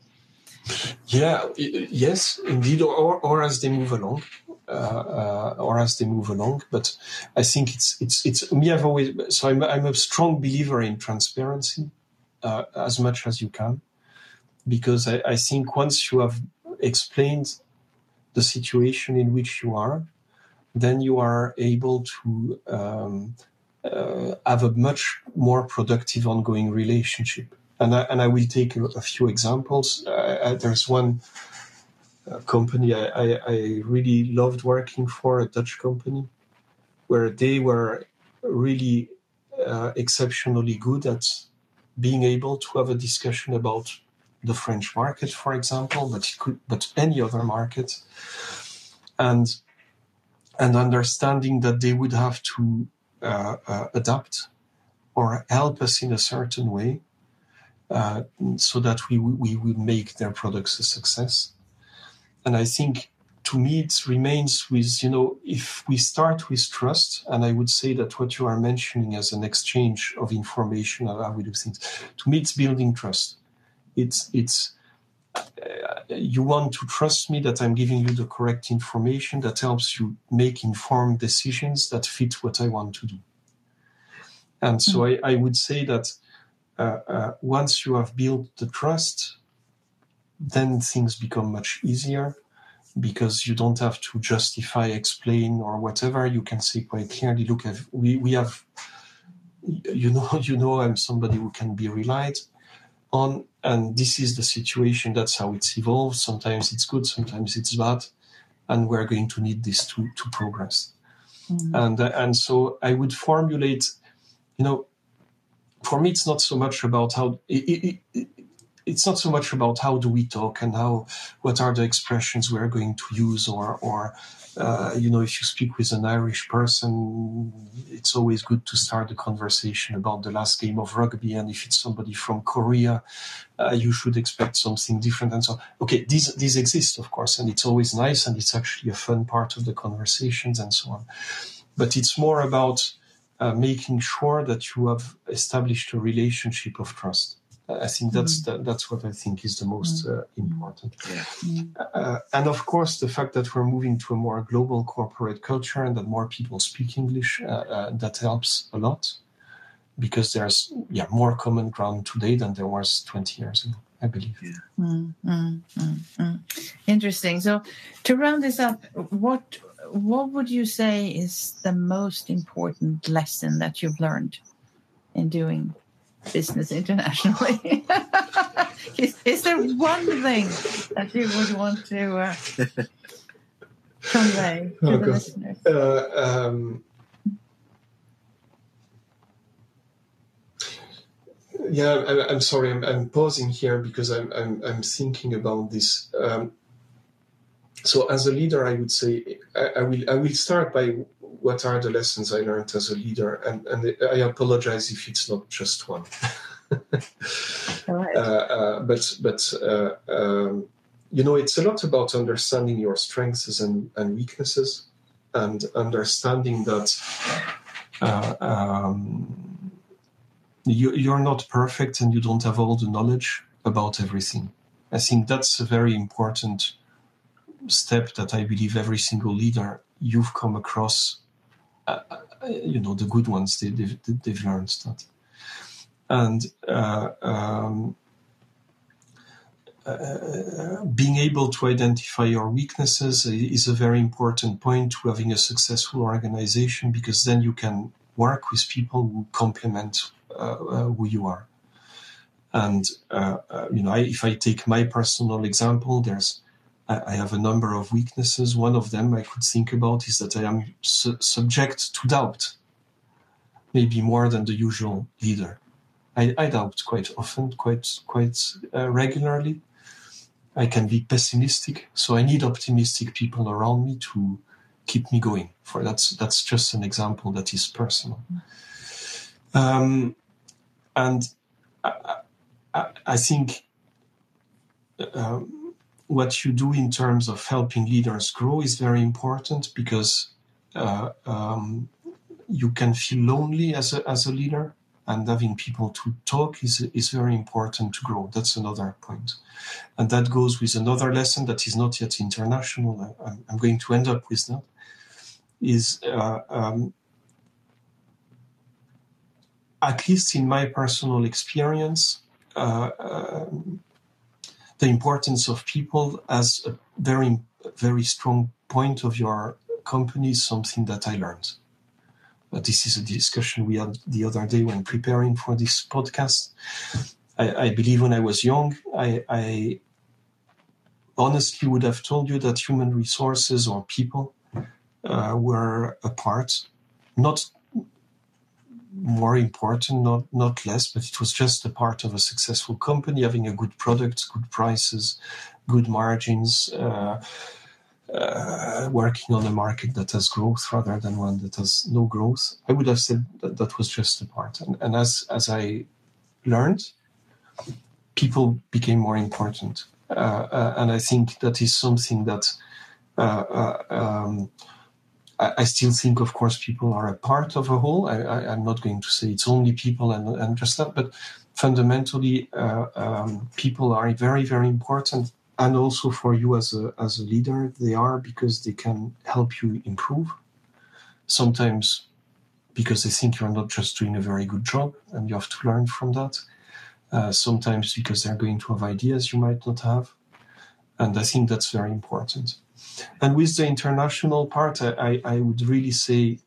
Yeah, i- yes, indeed, or, or as they move along, uh, uh, or as they move along. But I think it's it's it's me. I've always so I'm I'm a strong believer in transparency, uh, as much as you can, because I, I think once you have explained the situation in which you are, then you are able to um, uh, have a much more productive ongoing relationship. And I, and I will take a, a few examples. Uh, uh, there's one uh, company I, I, I really loved working for, a Dutch company, where they were really uh, exceptionally good at being able to have a discussion about the French market, for example, but it could, but any other market, and and understanding that they would have to uh, uh, adapt or help us in a certain way, uh, so that we we would make their products a success. And I think, to me, it remains with, you know, if we start with trust, and I would say that what you are mentioning as an exchange of information, how we do things, to me, it's building trust. It's it's uh, you want to trust me that I'm giving you the correct information that helps you make informed decisions that fit what I want to do. And so I, I would say that uh, uh, once you have built the trust, then things become much easier, because you don't have to justify, explain, or whatever. You can say quite clearly, look, we, we have, you know, you know, I'm somebody who can be relied on, and this is the situation. That's how it's evolved. Sometimes it's good, sometimes it's bad, and we're going to need this to, to progress. Mm-hmm. And, uh, and so I would formulate, you know, for me, it's not so much about how, it, it, it, it's not so much about how do we talk and how, what are the expressions we're going to use, or, or uh, you know, if you speak with an Irish person, it's always good to start a conversation about the last game of rugby. And if it's somebody from Korea, uh, you should expect something different. And so, okay, these, these exist, of course, and it's always nice, and it's actually a fun part of the conversations and so on. But it's more about uh, making sure that you have established a relationship of trust. I think that's mm. the, that's what I think is the most uh, important. Yeah. Uh, and of course, the fact that we're moving to a more global corporate culture and that more people speak English, uh, uh, that helps a lot, because there's yeah more common ground today than there was twenty years ago, I believe. Yeah. Mm, mm, mm, mm. Interesting. So to round this up, what what would you say is the most important lesson that you've learned in doing business internationally? is, is there one thing that you would want to uh, convey to oh, the God. listeners? Uh, um, yeah, I, I'm sorry. I'm, I'm pausing here because I'm I'm, I'm thinking about this. Um, so, as a leader, I would say I, I will I will start by what are the lessons I learned as a leader, and and I apologize if it's not just one. Right. uh, uh, but but uh, um, you know, it's a lot about understanding your strengths and, and weaknesses, and understanding that uh, um, you, you're not perfect and you don't have all the knowledge about everything. I think that's a very important step that I believe every single leader you've come across uh, you know, the good ones, they, they've, they've learned that. And uh, um, uh, being able to identify your weaknesses is a very important point to having a successful organization, because then you can work with people who complement uh, uh, who you are. And, uh, uh, you know, I, if I take my personal example, there's, I, I have a number of weaknesses. One of them I could think about is that I am su- subject to doubt, maybe more than the usual leader. I, I doubt quite often, quite, quite uh, regularly. I can be pessimistic, so I need optimistic people around me to keep me going. For that's, that's just an example that is personal. Um, and I, I, I think um, what you do in terms of helping leaders grow is very important, because uh, um, you can feel lonely as a as a leader, and having people to talk is is very important to grow. That's another point, and that goes with another lesson that is not yet international. I, I'm going to end up with that. Is uh, um, at least in my personal experience. Uh, um, the importance of people as a very, very strong point of your company is something that I learned. But this is a discussion we had the other day when preparing for this podcast. I, I believe when I was young, I, I honestly would have told you that human resources or people uh, were a part, not more important, not not less, but it was just a part of a successful company, having a good product, good prices, good margins, uh, uh, working on a market that has growth rather than one that has no growth. I would have said that that was just a part. And, and as, as I learned, people became more important. Uh, uh, and I think that is something that uh, uh, um, I still think, of course, people are a part of a whole. I, I, I'm not going to say it's only people and, and just that, but fundamentally, uh, um, people are very, very important. And also for you as a as a leader, they are, because they can help you improve. Sometimes because they think you're not just doing a very good job, and you have to learn from that. Uh, sometimes because they're going to have ideas you might not have. And I think that's very important. And with the international part, I, I would really say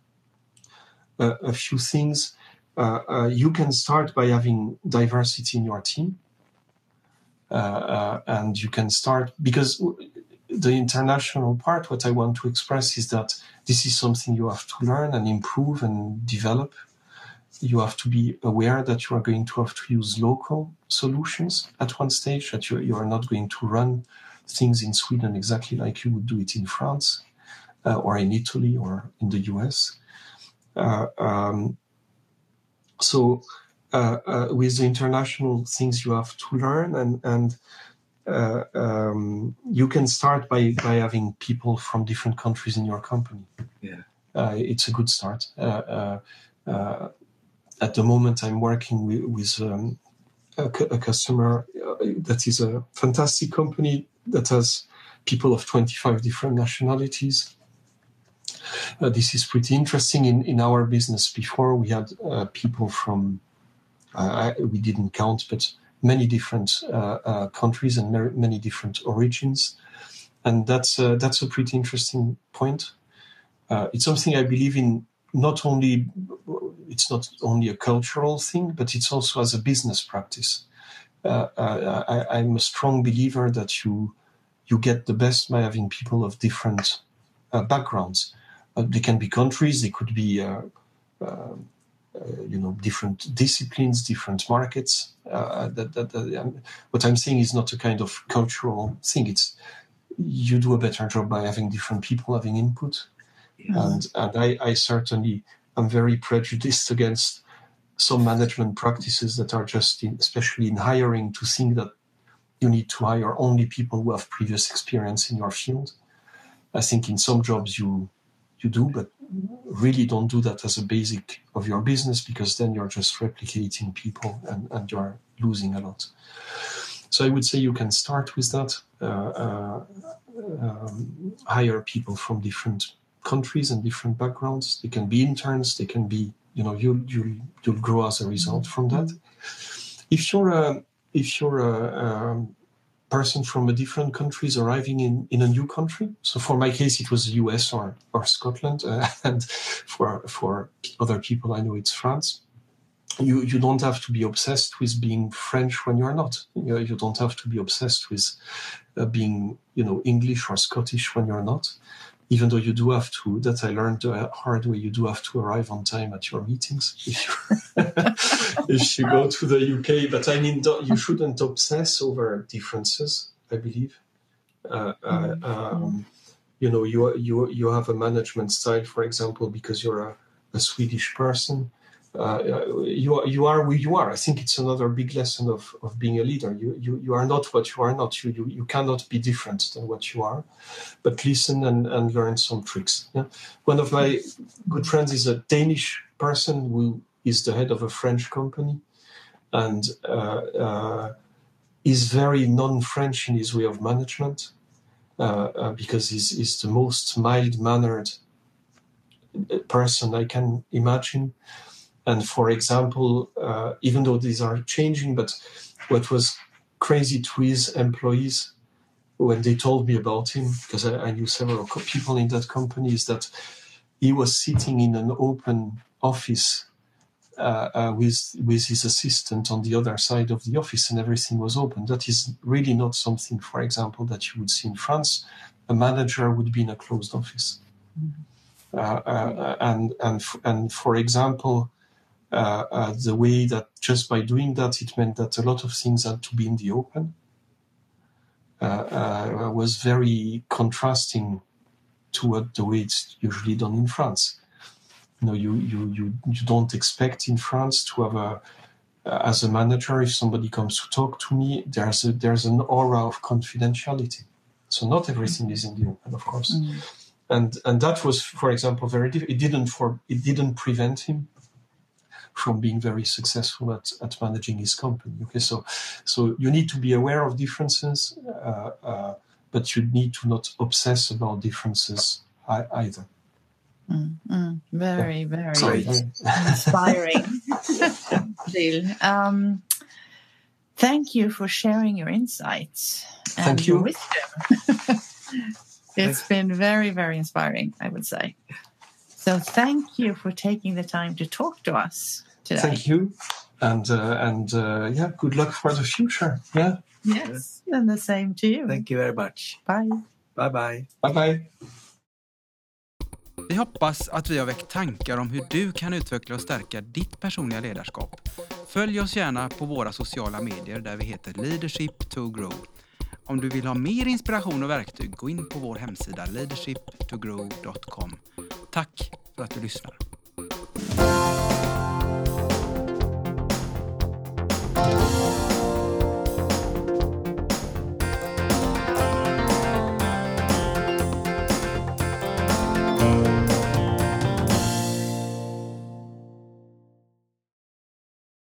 a, a few things. Uh, uh, you can start by having diversity in your team. Uh, uh, and you can start, because the international part, what I want to express is that this is something you have to learn and improve and develop. You have to be aware that you are going to have to use local solutions at one stage, that you, you are not going to run things in Sweden exactly like you would do it in France uh, or in Italy or in the U S. Uh, um, so uh, uh, with the international things you have to learn, and, and uh, um, you can start by, by having people from different countries in your company. Yeah, uh, it's a good start. Uh, uh, uh, at the moment, I'm working with, with um, a, a customer uh, that is a fantastic company that has people of twenty-five different nationalities. Uh, this is pretty interesting. In, in our business before, we had uh, people from, uh, I, we didn't count, but many different uh, uh, countries and mer- many different origins. And that's, uh, that's a pretty interesting point. Uh, it's something I believe in, not only, it's not only a cultural thing, but it's also as a business practice. Uh, uh, I, I'm a strong believer that you you get the best by having people of different uh, backgrounds. Uh, they can be countries, they could be, uh, uh, uh, you know, different disciplines, different markets. Uh, that, that, that um, what I'm saying is not a kind of cultural thing. It's you do a better job by having different people having input. Yeah. And and I, I certainly am very prejudiced against some management practices that are just, in, especially in hiring, to think that you need to hire only people who have previous experience in your field. I think in some jobs you you do, but really don't do that as a basic of your business, because then you're just replicating people and, and you're losing a lot. So I would say you can start with that, uh, uh, um, hire people from different countries and different backgrounds. They can be interns. They can be, you know, you'll you'll you'll grow as a result from that. If you're a if you're a um, person from a different country is arriving in, in a new country. So for my case, it was the U S or or Scotland, uh, and for for other people, I know it's France. You you don't have to be obsessed with being French when you're not. You, you don't have to be obsessed with uh, being, you know, English or Scottish when you're not. Even though you do have to, that I learned the hard way, you do have to arrive on time at your meetings if you, if you go to the U K. But I mean, don't, you shouldn't obsess over differences, I believe. Uh, uh, um, you know, you you you have a management style, for example, because you're a, a Swedish person. Uh, you are you are who you are. I think it's another big lesson of, of being a leader. You, you you are not what you are not. You you you cannot be different than what you are. But listen and, and learn some tricks. Yeah? One of my good friends is a Danish person who is the head of a French company, and uh, uh, is very non-French in his way of management uh, uh, because he's, he's the most mild-mannered person I can imagine. And for example, uh, even though these are changing, but what was crazy to his employees when they told me about him, because I, I knew several people in that company, is that he was sitting in an open office uh, uh, with with his assistant on the other side of the office, and everything was open. That is really not something, for example, that you would see in France. A manager would be in a closed office, mm-hmm. uh, uh, and and and for example. Uh, uh, the way that just by doing that, it meant that a lot of things had to be in the open, uh, uh, was very contrasting to what the way it's usually done in France. You know, you you you, you don't expect in France to have a, uh, as a manager, if somebody comes to talk to me, there's a, there's an aura of confidentiality. So not everything is in the open, of course, mm. and and that was, for example, very difficult. It didn't for it didn't prevent him from being very successful at, at managing his company. Okay, so so you need to be aware of differences, uh, uh, but you need to not obsess about differences I, either. Mm, mm, very, yeah. very Sorry. inspiring, Gilles. Um, thank you for sharing your insights and thank you. your wisdom. It's been very, very inspiring, I would say. So thank you for taking the time to talk to us today. Thank you. And, uh, and uh, yeah, good luck for the future. Yeah. Yes, and the same to you. Thank you very much. Bye. Bye-bye. Bye-bye. Vi hoppas att vi har väckt tankar om hur du kan utveckla och stärka ditt personliga ledarskap. Följ oss gärna på våra sociala medier där vi heter Leadership to Grow. Om du vill ha mer inspiration och verktyg, gå in på vår hemsida leadership to grow dot com. Tack för att du lyssnar.